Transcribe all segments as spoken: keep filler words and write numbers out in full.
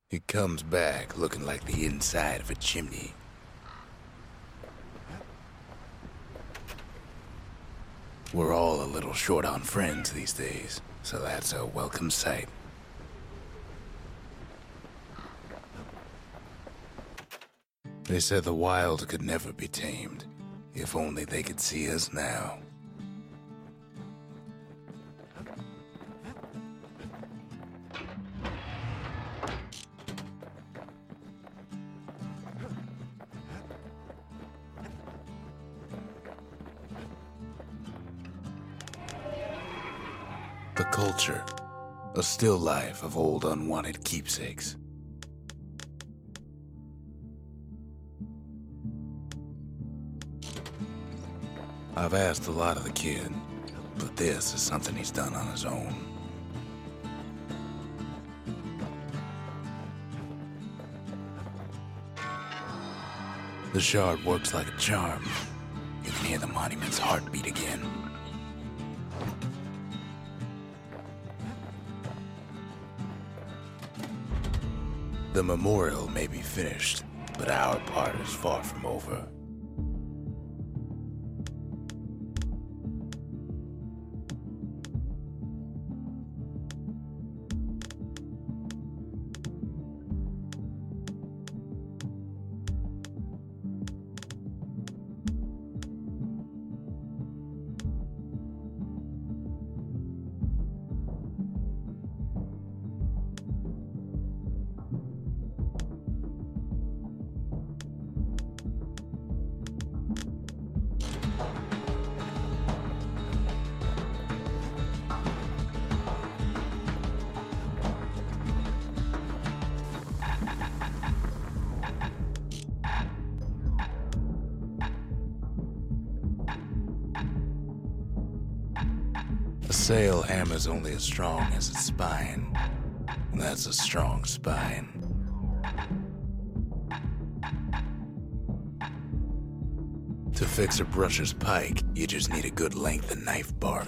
He comes back looking like the inside of a chimney. We're all a little short on friends these days, so that's a welcome sight. They said the wild could never be tamed, if only they could see us now. The culture, a still life of old unwanted keepsakes. I've asked a lot of the kid, but this is something he's done on his own. The shard works like a charm. You can hear the monument's heartbeat again. The memorial may be finished, but our part is far from over. A sail hammer's only as strong as its spine. And that's a strong spine. To fix a brusher's pike, you just need a good length of knife bark.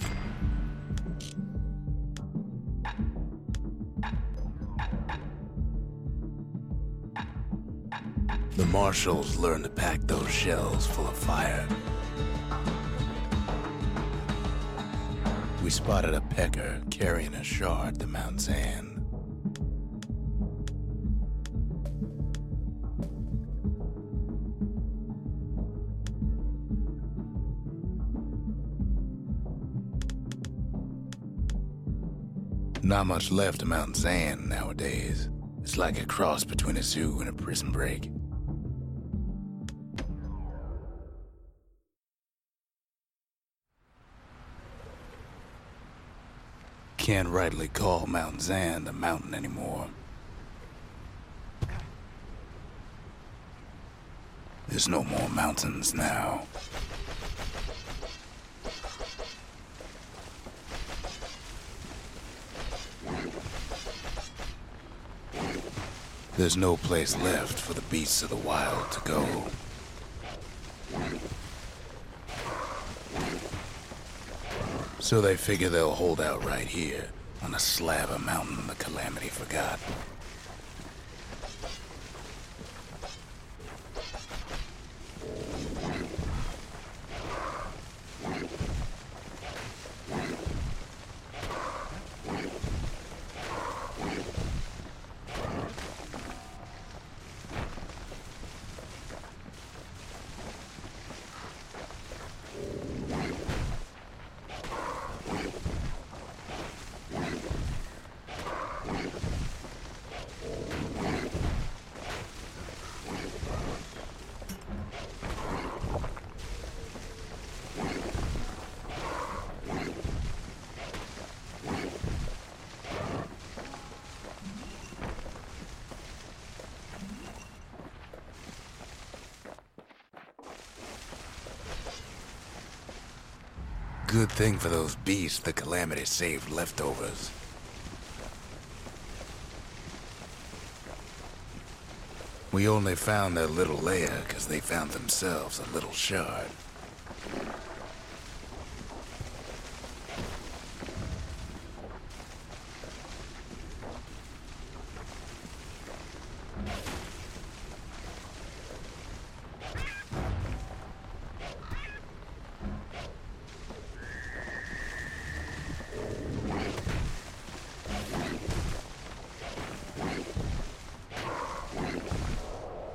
The marshals learned to pack those shells full of fire. We spotted a pecker carrying a shard to Mount Zan. Not much left of Mount Zan nowadays. It's like a cross between a zoo and a prison break. Can't rightly call Mount Zan a mountain anymore. There's no more mountains now. There's no place left for the beasts of the wild to go. So they figure they'll hold out right here, on a slab of mountain the Calamity forgot. Good thing for those beasts the Calamity saved leftovers. We only found their little lair because they found themselves a little shard.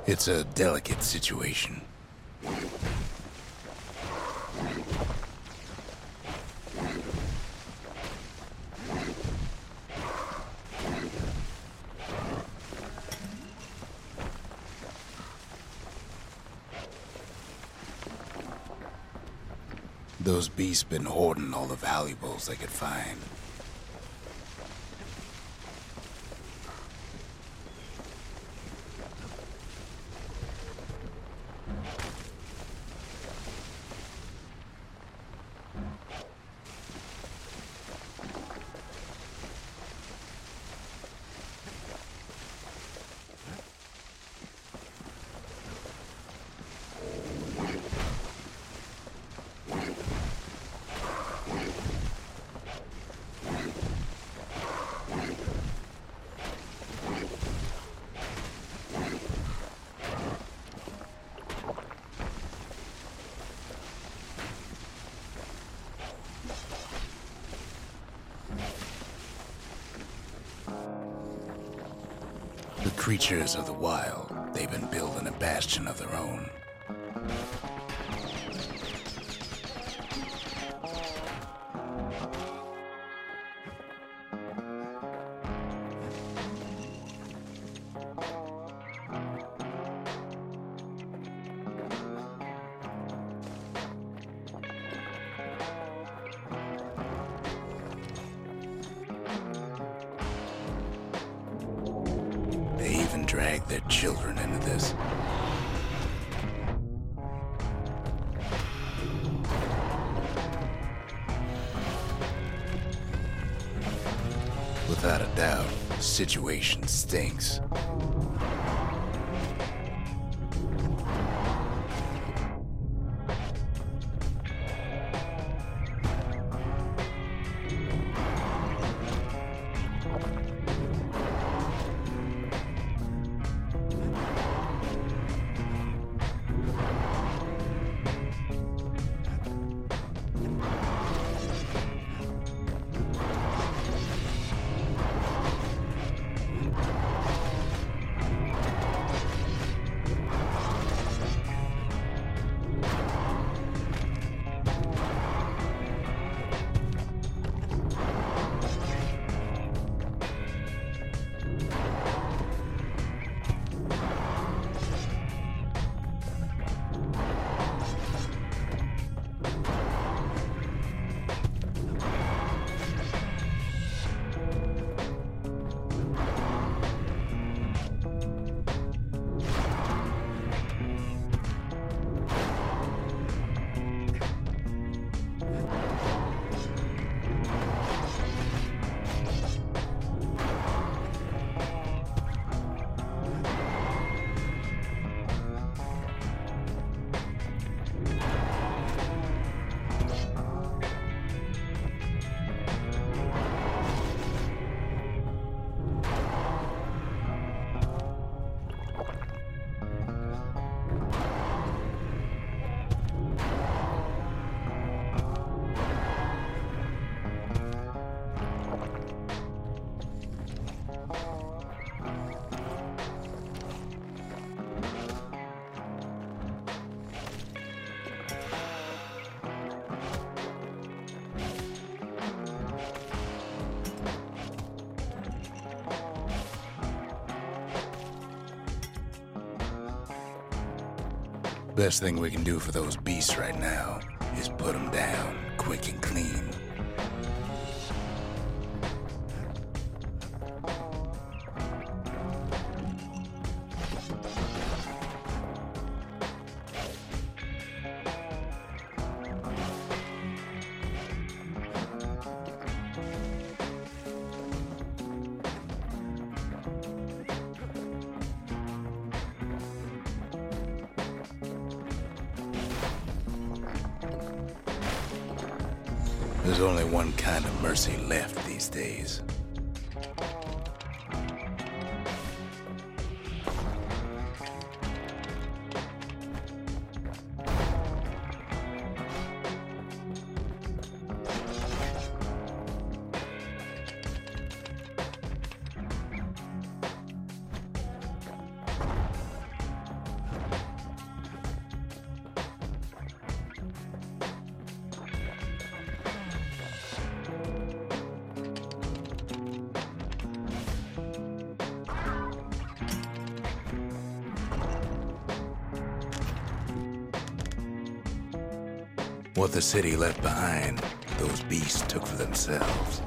It's a delicate situation. Those beasts been hoarding all the valuables they could find. The creatures of the wild, they've been building a bastion of their own. They even drag their children into this. Without a doubt, the situation stinks. Best thing we can do for those beasts right now is put them down quick and clean. There's only one kind of mercy left these days. What the city left behind, those beasts took for themselves.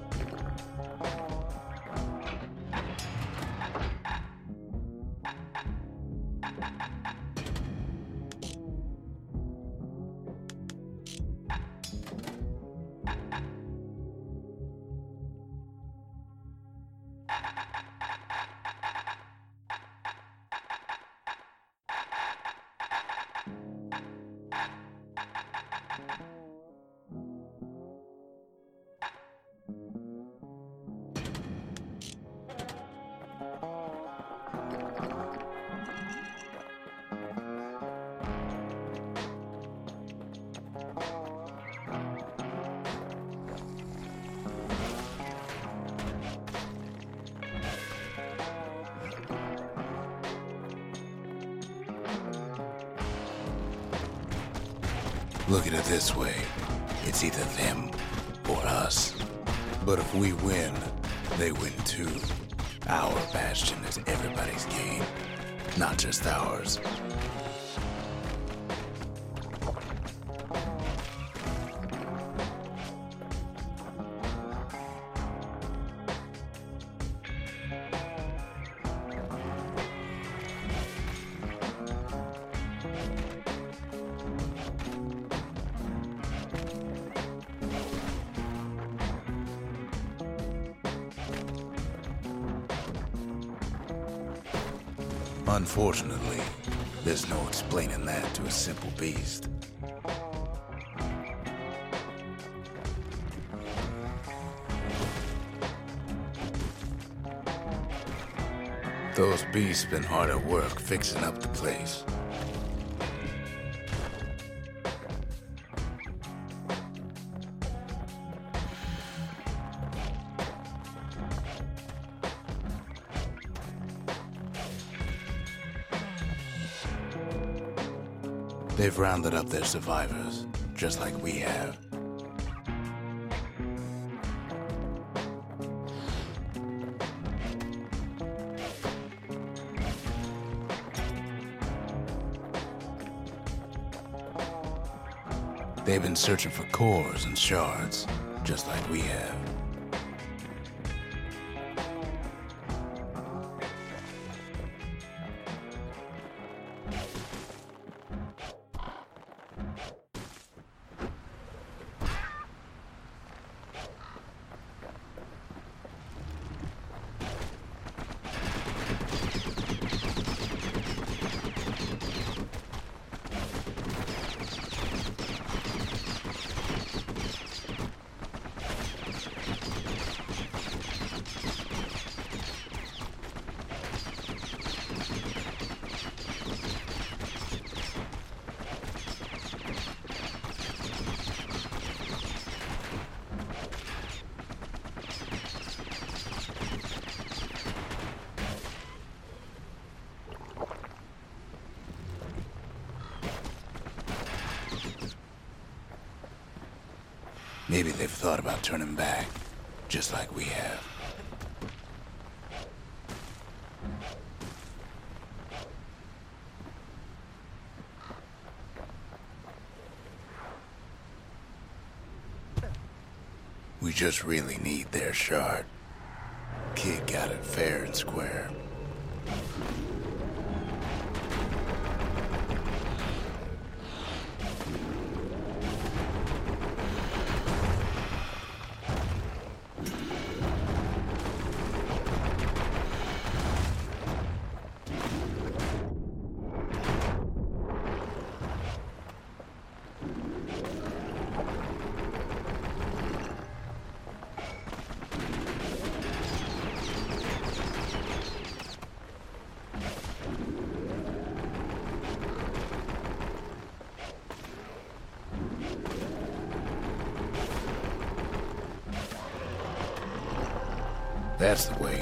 Look at it this way. It's either them or us. But if we win, they win too. Our bastion is everybody's game, not just ours. Unfortunately, there's no explaining that to a simple beast. Those beasts been hard at work fixing up the place. They've rounded up their survivors, just like we have. They've been searching for cores and shards, just like we have. Maybe they've thought about turning back, just like we have. We just really need their shard. Kid got it fair and square. That's the way.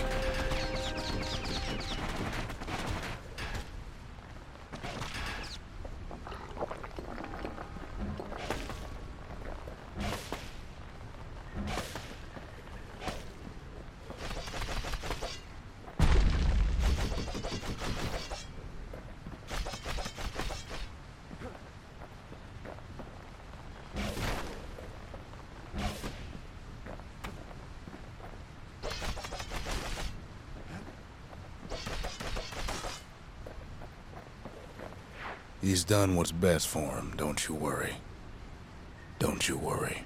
He's done what's best for him, don't you worry. Don't you worry.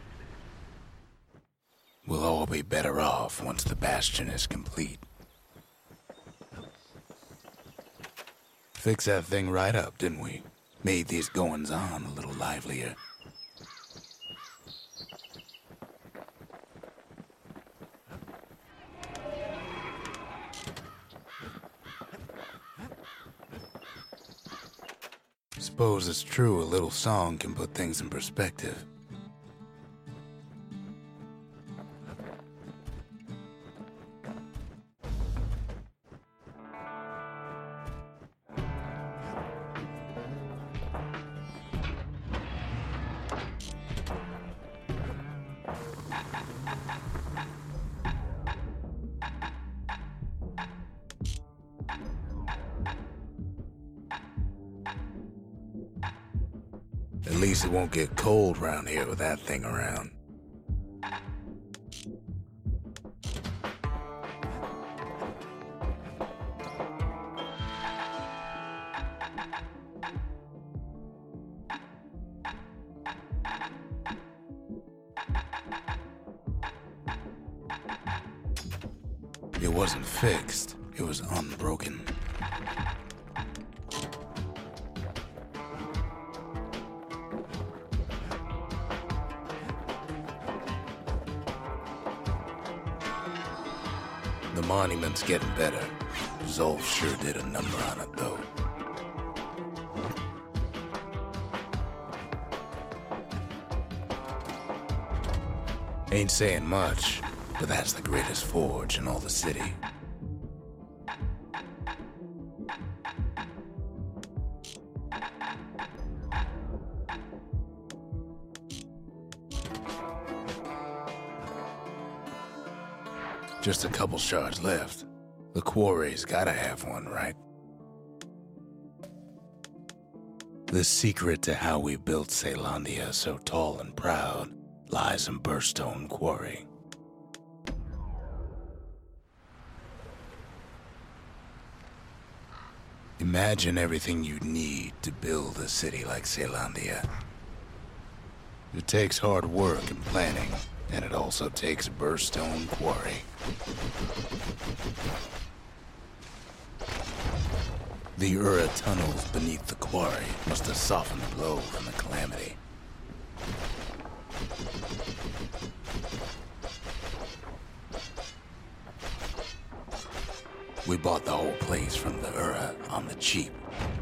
We'll all be better off once the Bastion is complete. Fixed that thing right up, didn't we? Made these goings-on a little livelier. Suppose it's true a little song can put things in perspective. At least it won't get cold around here with that thing around. It wasn't fixed, it was unbroken. The monument's getting better. Zulf sure did a number on it, though. Ain't saying much, but that's the greatest forge in all the city. Just a couple shards left. The quarry's gotta have one, right? The secret to how we built Caelondia so tall and proud lies in Burstone Quarry. Imagine everything you'd need to build a city like Caelondia. It takes hard work and planning, and it also takes Burstone Quarry. The Ura tunnels beneath the quarry must have softened the blow from the calamity. We bought the whole place from the Ura on the cheap.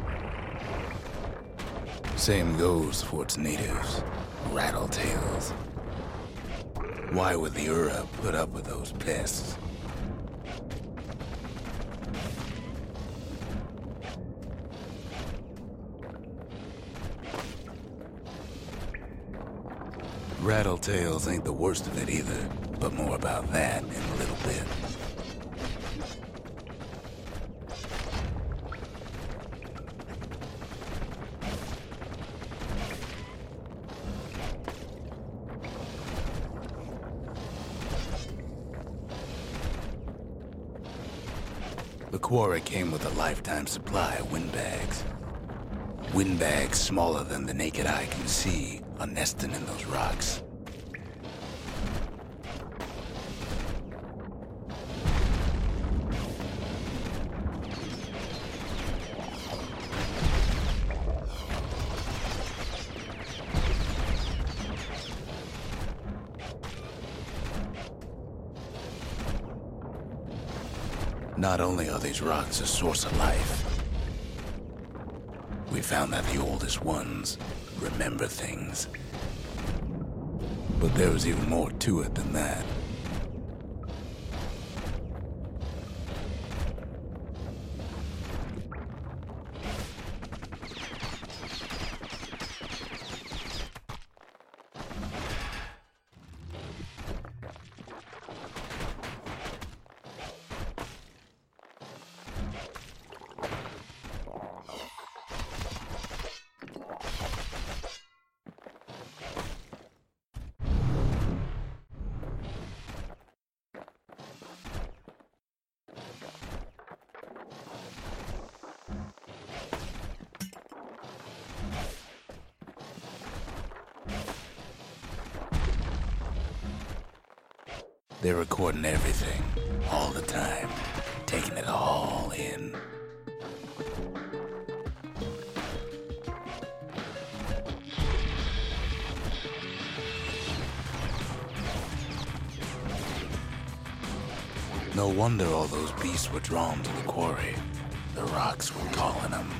Same goes for its natives, Rattletails. Why would the Ura put up with those pests? Rattletails ain't the worst of it either, but more about that in a little bit. The quarry came with a lifetime supply of windbags. Windbags smaller than the naked eye can see are nesting in those rocks. Not only are these rocks a source of life, we found that the oldest ones remember things. But there was even more to it than that. They're recording everything, all the time, taking it all in. No wonder all those beasts were drawn to the quarry. The rocks were calling them.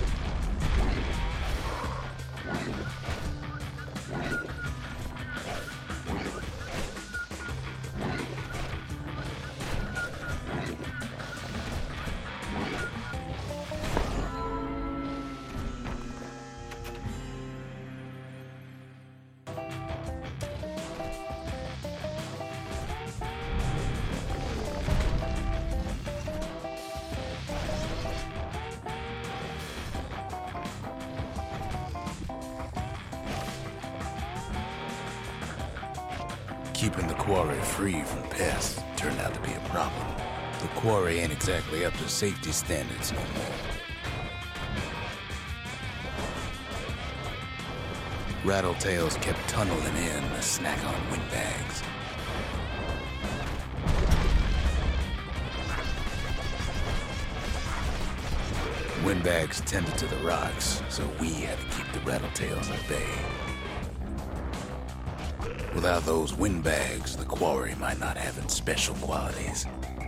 Keeping the quarry free from pests turned out to be a problem. The quarry ain't exactly up to safety standards no more. Rattletails kept tunneling in to snack on windbags. Windbags tended to the rocks, so we had to keep the rattletails at bay. Without those windbags, the quarry might not have its special qualities.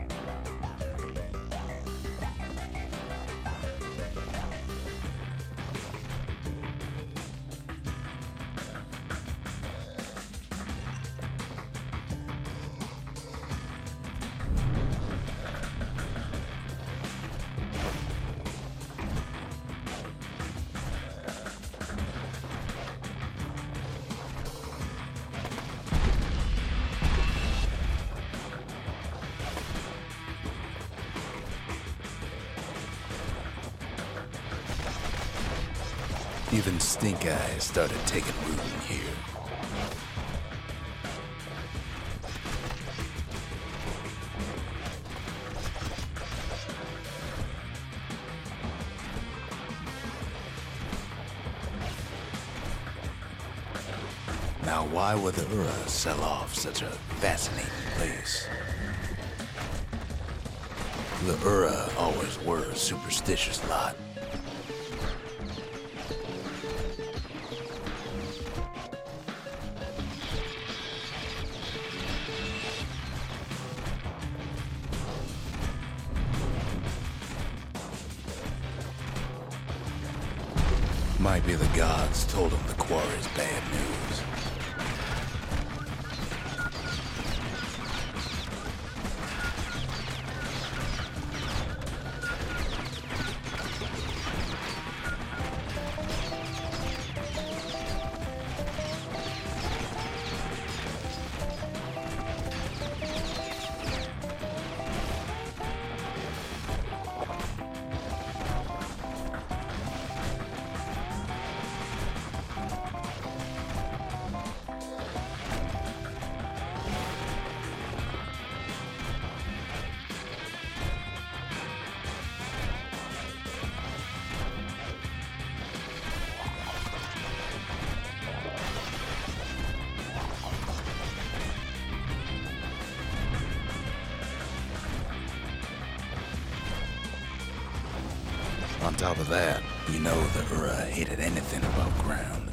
Even stink eyes started taking root in here. Now, why would the Ura sell off such a fascinating place? The Ura always were a superstitious lot. Might be the gods told him the quarry's bad news. On top of that, you know the Ura hated anything above ground.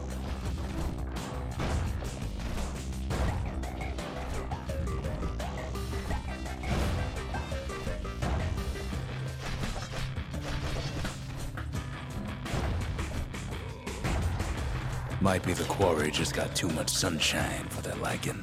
Might be the quarry just got too much sunshine for their liking.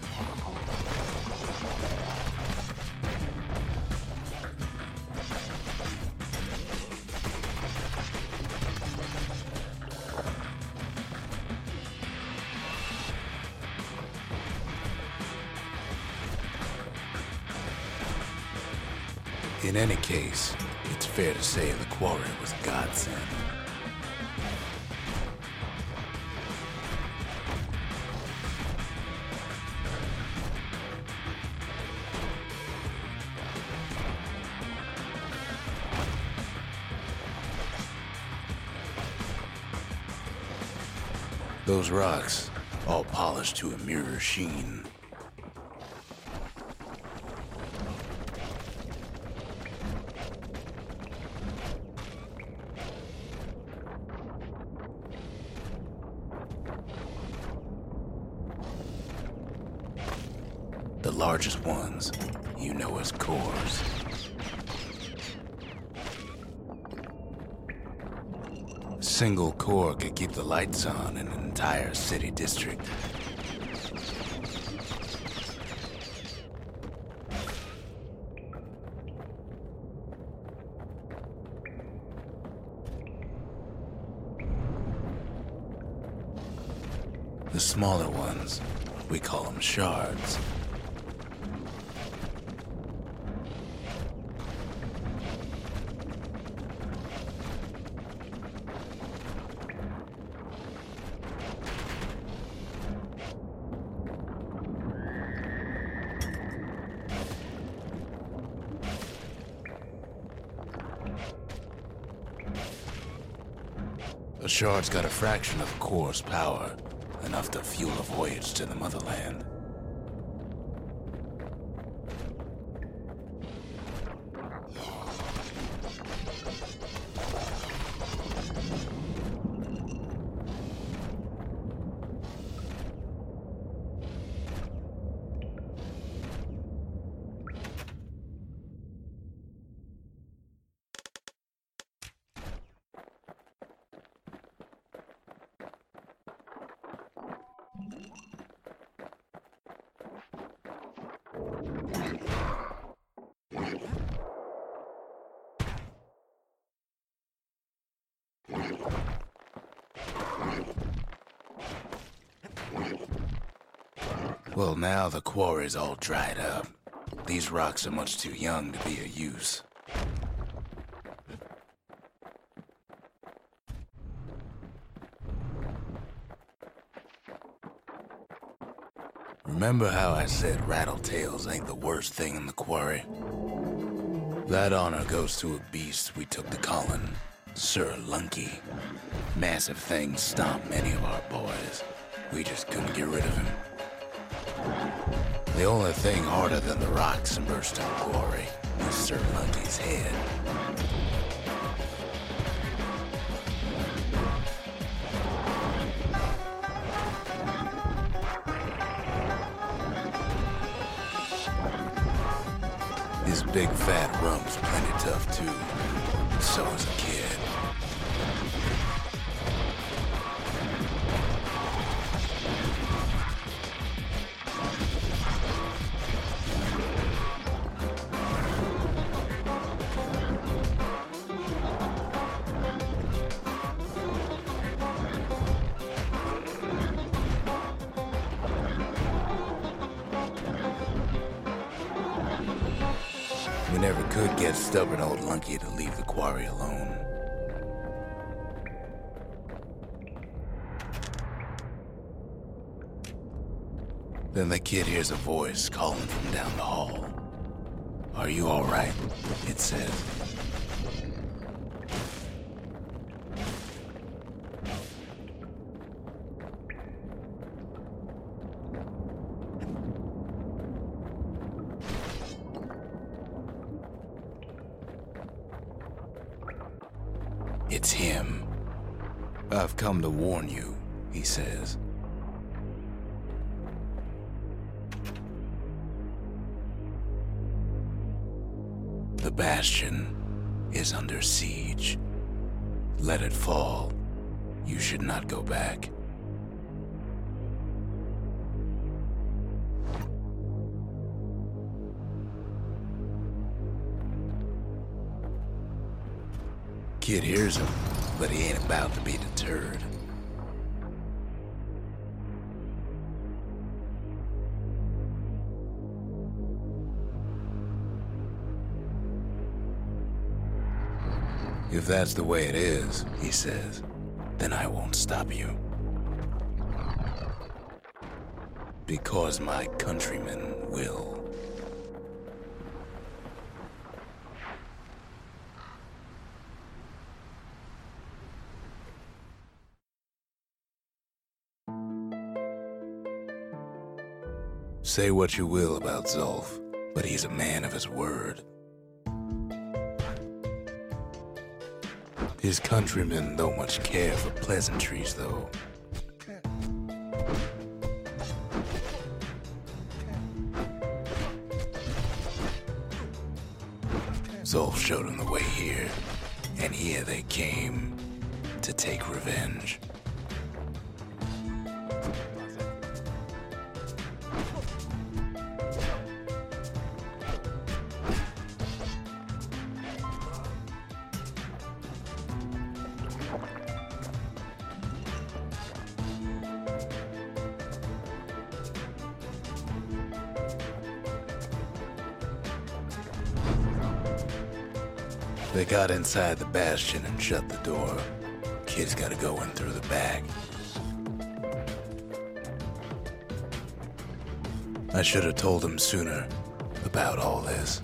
In any case, it's fair to say the quarry was a godsend. Those rocks, all polished to a mirror sheen. largest ones, you know as cores. A single core could keep the lights on in an entire city district. The smaller ones, we call them shards. A shard's got a fraction of a core's power, enough to fuel a voyage to the motherland. Well, now the quarry's all dried up. These rocks are much too young to be of use. Remember how I said Rattletails ain't the worst thing in the quarry? That honor goes to a beast we took to Colin, Sir Lunky. Massive things stomped many of our boys. We just couldn't get rid of him. The only thing harder than the rocks in Burstone Quarry is Sir Lunky's head. His big fat rump's plenty tough too. So is a kid. We never could get stubborn old Lunky to leave the quarry alone. Then the kid hears a voice calling from down the hall. "Are you all right?" it says. It's him. "I've come to warn you," he says. The Bastion is under siege. Let it fall. You should not go back. Kid hears him, but he ain't about to be deterred. "If that's the way it is," he says, "then I won't stop you. Because my countrymen will." Say what you will about Zulf, but he's a man of his word. His countrymen don't much care for pleasantries, though. Zolf showed them the way here, and here they came to take revenge. They got inside the bastion and shut the door. Kid's gotta go in through the back. I should have told him sooner about all this.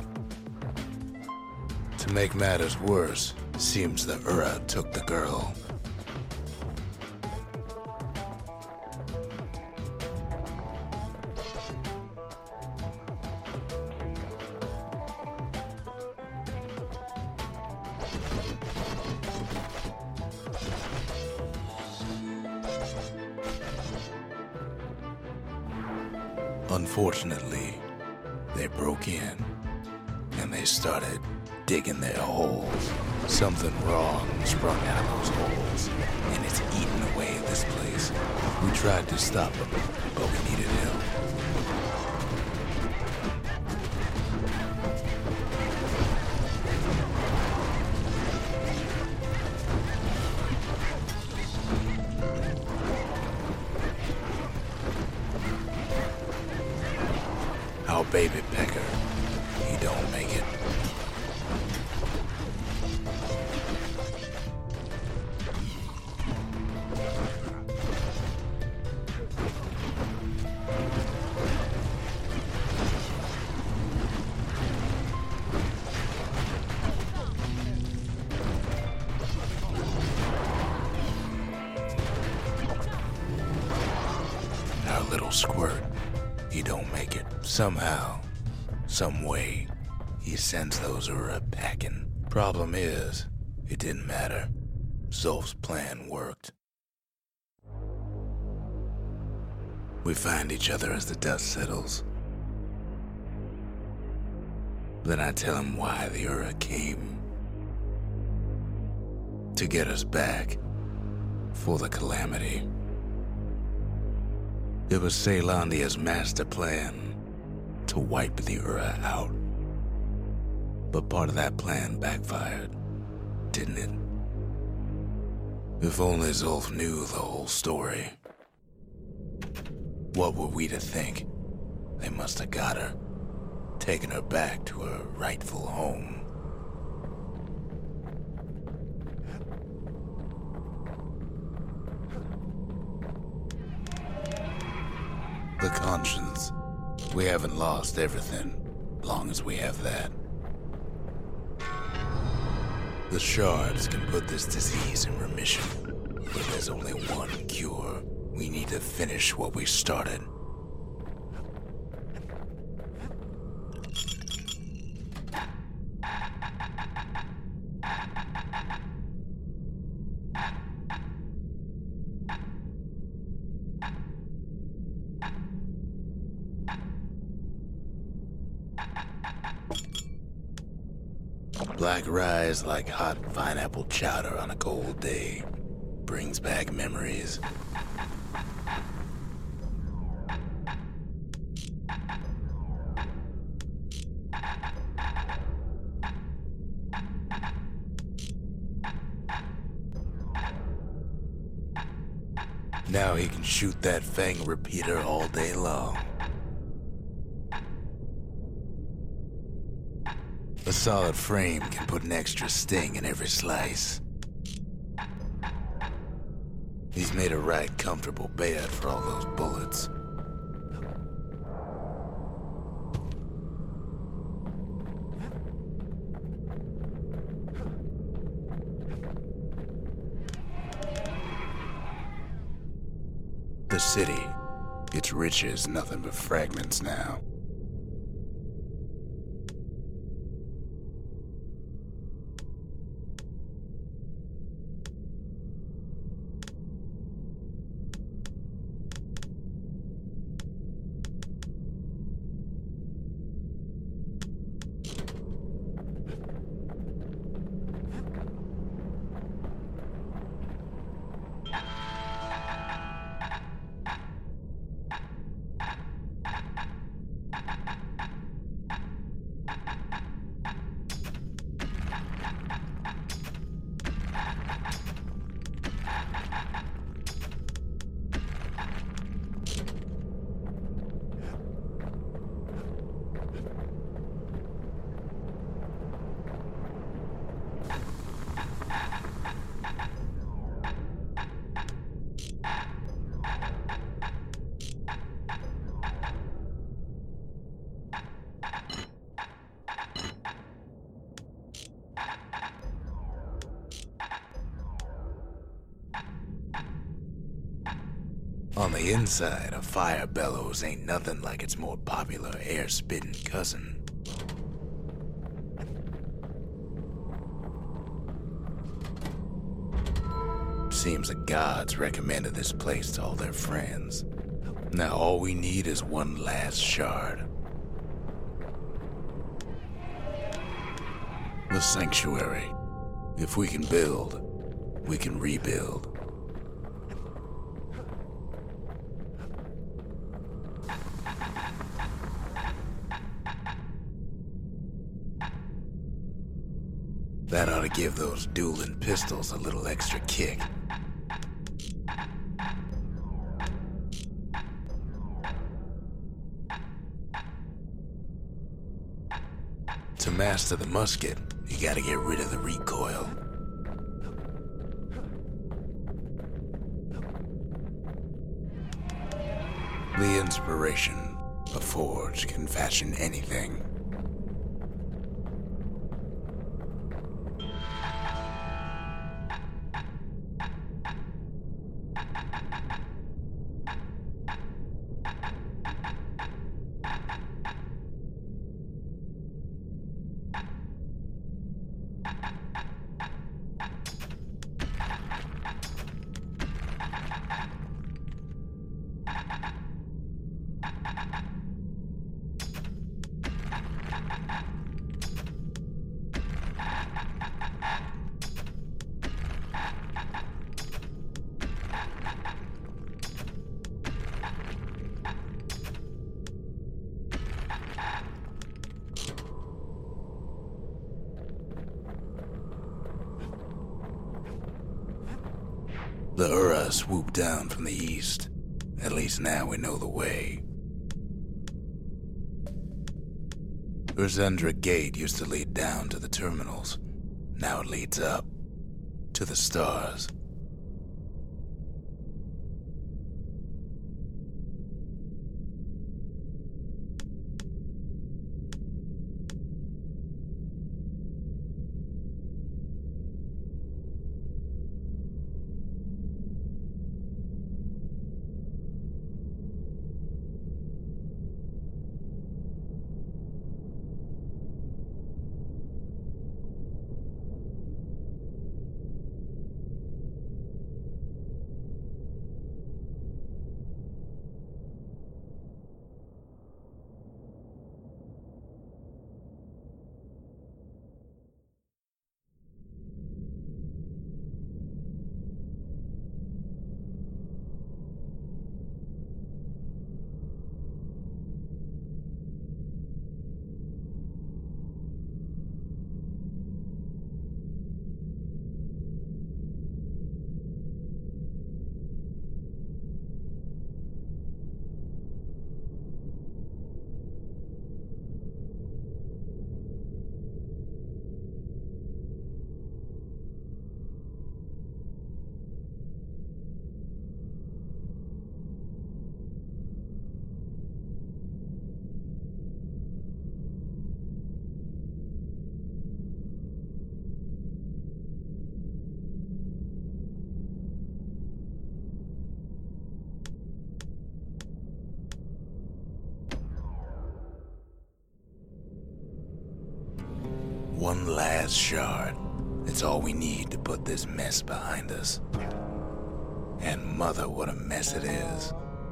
To make matters worse, seems the Ura took the girl. Unfortunately, they broke in, and they started digging their holes. Something wrong sprung out of those holes, and it's eating away at this place. We tried to stop them, but we needed help. Our baby pecker, he don't make it. Our little squirt, he don't make it. Somehow, some way, he sends those Ura packing. Problem is, it didn't matter. Zolf's plan worked. We find each other as the dust settles. Then I tell him why the Ura came. To get us back, for the Calamity. It was Caelondia's master plan to wipe the Ura out. But part of that plan backfired, didn't it? If only Zolf knew the whole story. What were we to think? They must have got her, taken her back to her rightful home. The conscience. We haven't lost everything, long as we have that. The shards can put this disease in remission, but there's only one cure. We need to finish what we started. Black rise like hot pineapple chowder on a cold day. Brings back memories. Now he can shoot that fang repeater all day long. A solid frame can put an extra sting in every slice. He's made a right comfortable bed for all those bullets. The city, its riches nothing but fragments now. On the inside, a fire bellows ain't nothing like its more popular air-spitting cousin. Seems the gods recommended this place to all their friends. Now all we need is one last shard. The sanctuary. If we can build, we can rebuild. That ought to give those dueling pistols a little extra kick. To master the musket, you gotta get rid of the recoil. The inspiration, a forge can fashion anything. The Ura swooped down from the east. At least now we know the way. Urzendra Gate used to lead down to the terminals. Now it leads up to the stars. One last shard. It's all we need to put this mess behind us. And mother, what a mess it is.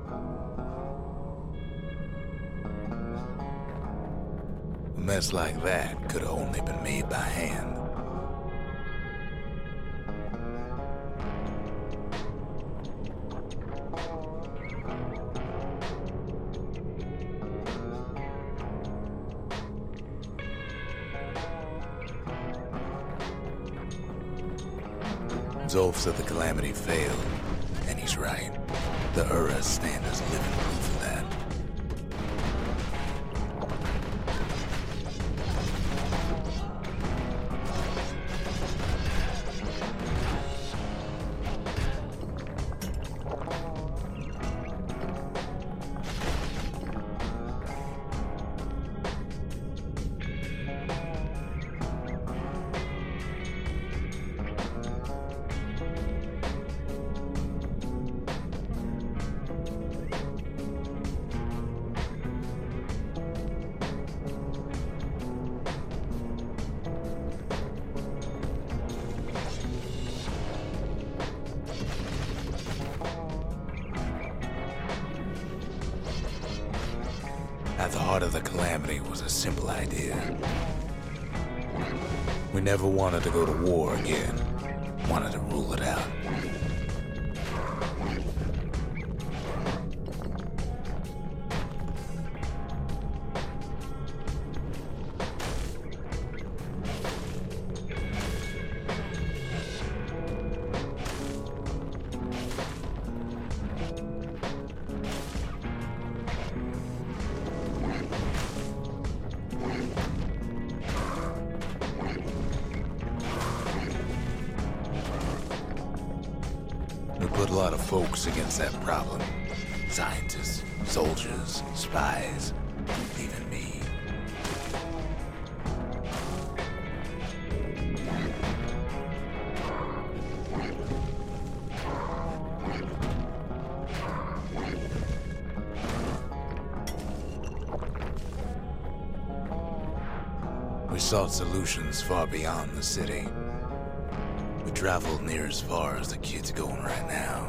A mess like that could have only been made by hand. Zulf said the Calamity failed, and he's right. The Ura stand as living proof of that. heart of the calamity was a simple idea. We never wanted to go to war again. Wanted to rule it out. We put a lot of folks against that problem. Scientists, soldiers, spies, even me. We sought solutions far beyond the city. We traveled near as far as the kid's going right now.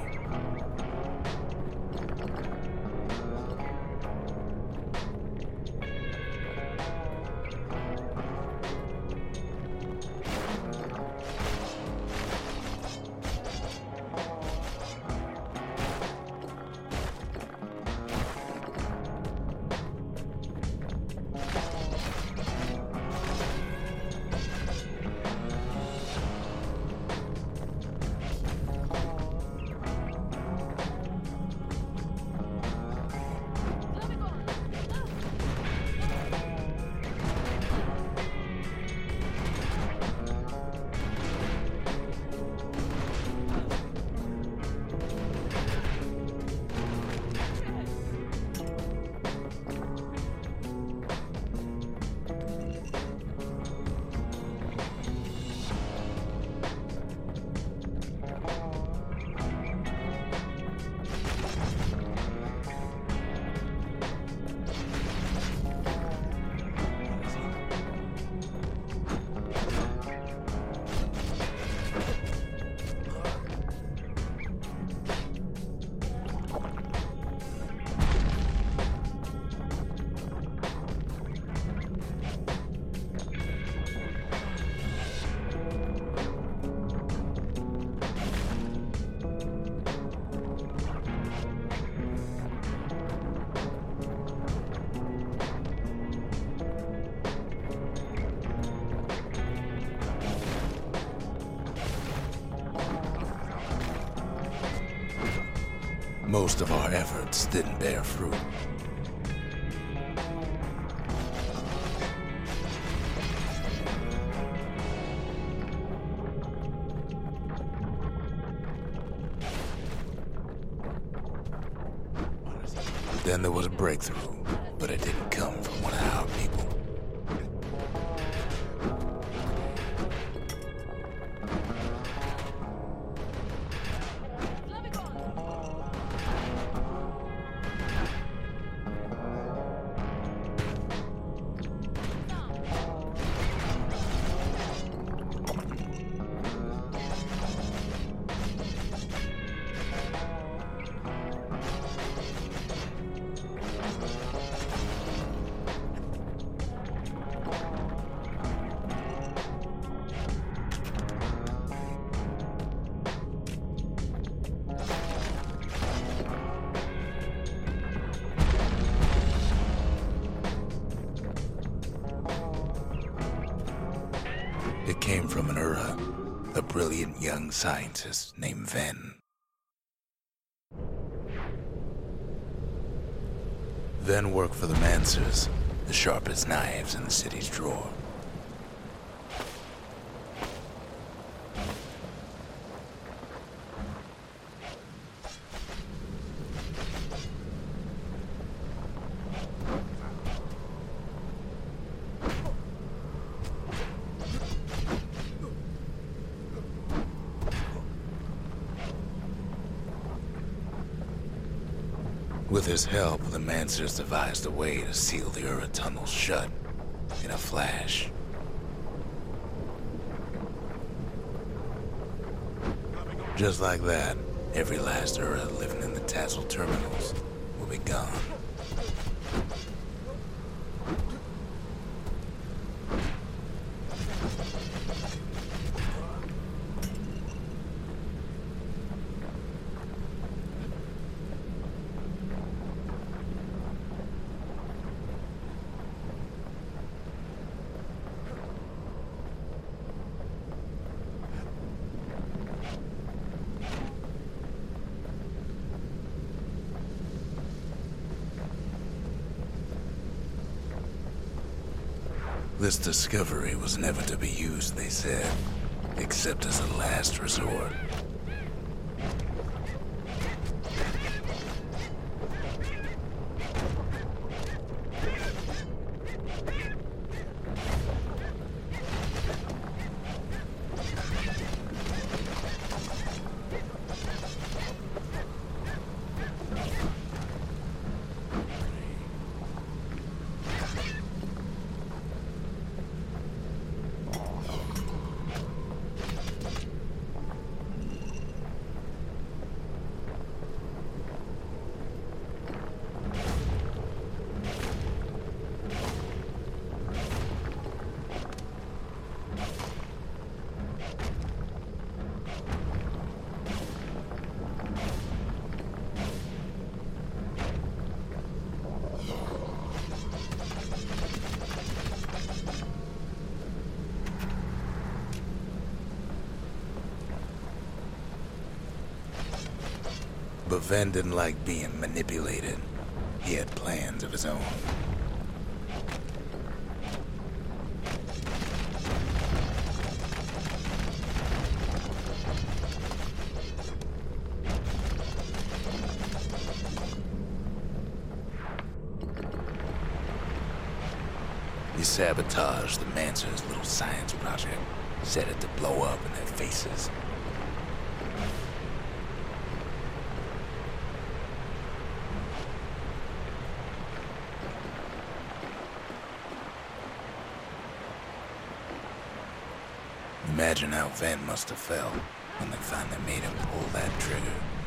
Most of our efforts didn't bear fruit. Then there was a breakthrough, but it didn't come from one of our people. It came from an Ura, a brilliant young scientist named Ven. Ven worked for the Mancers, the sharpest knives in the city's drawer. With his help, the Mancers devised a way to seal the Ura tunnels shut in a flash. Just like that, every last Ura living in the Tassel terminals will be gone. This discovery was never to be used, they said, except as a last resort. But Ven didn't like being manipulated. He had plans of his own. He sabotaged the Manson's little science project, set it to blow up in their faces. Imagine how Ven must have felt when they finally made him pull that trigger.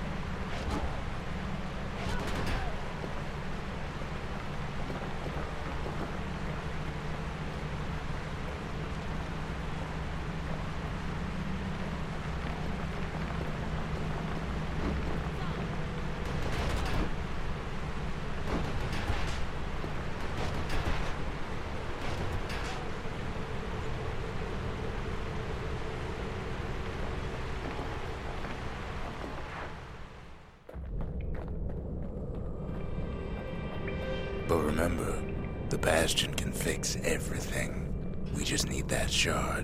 But remember, the Bastion can fix everything. We just need that shard.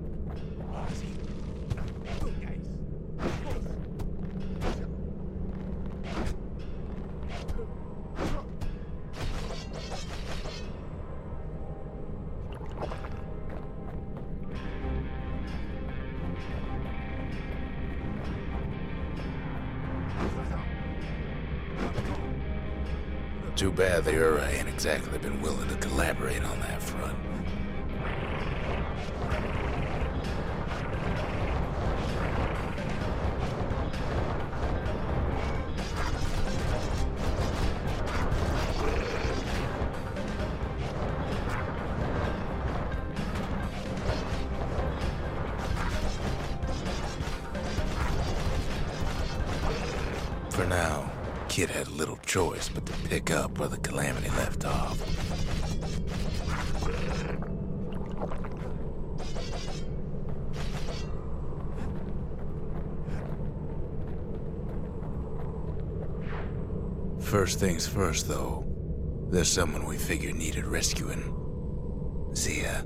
Too bad the Ura ain't exactly been willing to collaborate on that front. For now, Kid had little choice but to pick up where the Calamity left off. First things first, though, there's someone we figured needed rescuing. Zia.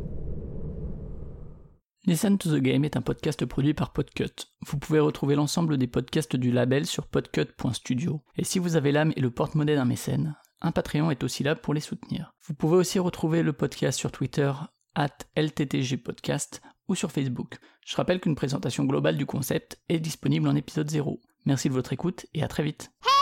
Listen to the Game est un podcast produit par Podcut. Vous pouvez retrouver l'ensemble des podcasts du label sur podcut point studio. Et si vous avez l'âme et le porte-monnaie d'un mécène, un Patreon est aussi là pour les soutenir. Vous pouvez aussi retrouver le podcast sur Twitter arobase L T T G podcast ou sur Facebook. Je rappelle qu'une présentation globale du concept est disponible en épisode zéro. Merci de votre écoute et à très vite.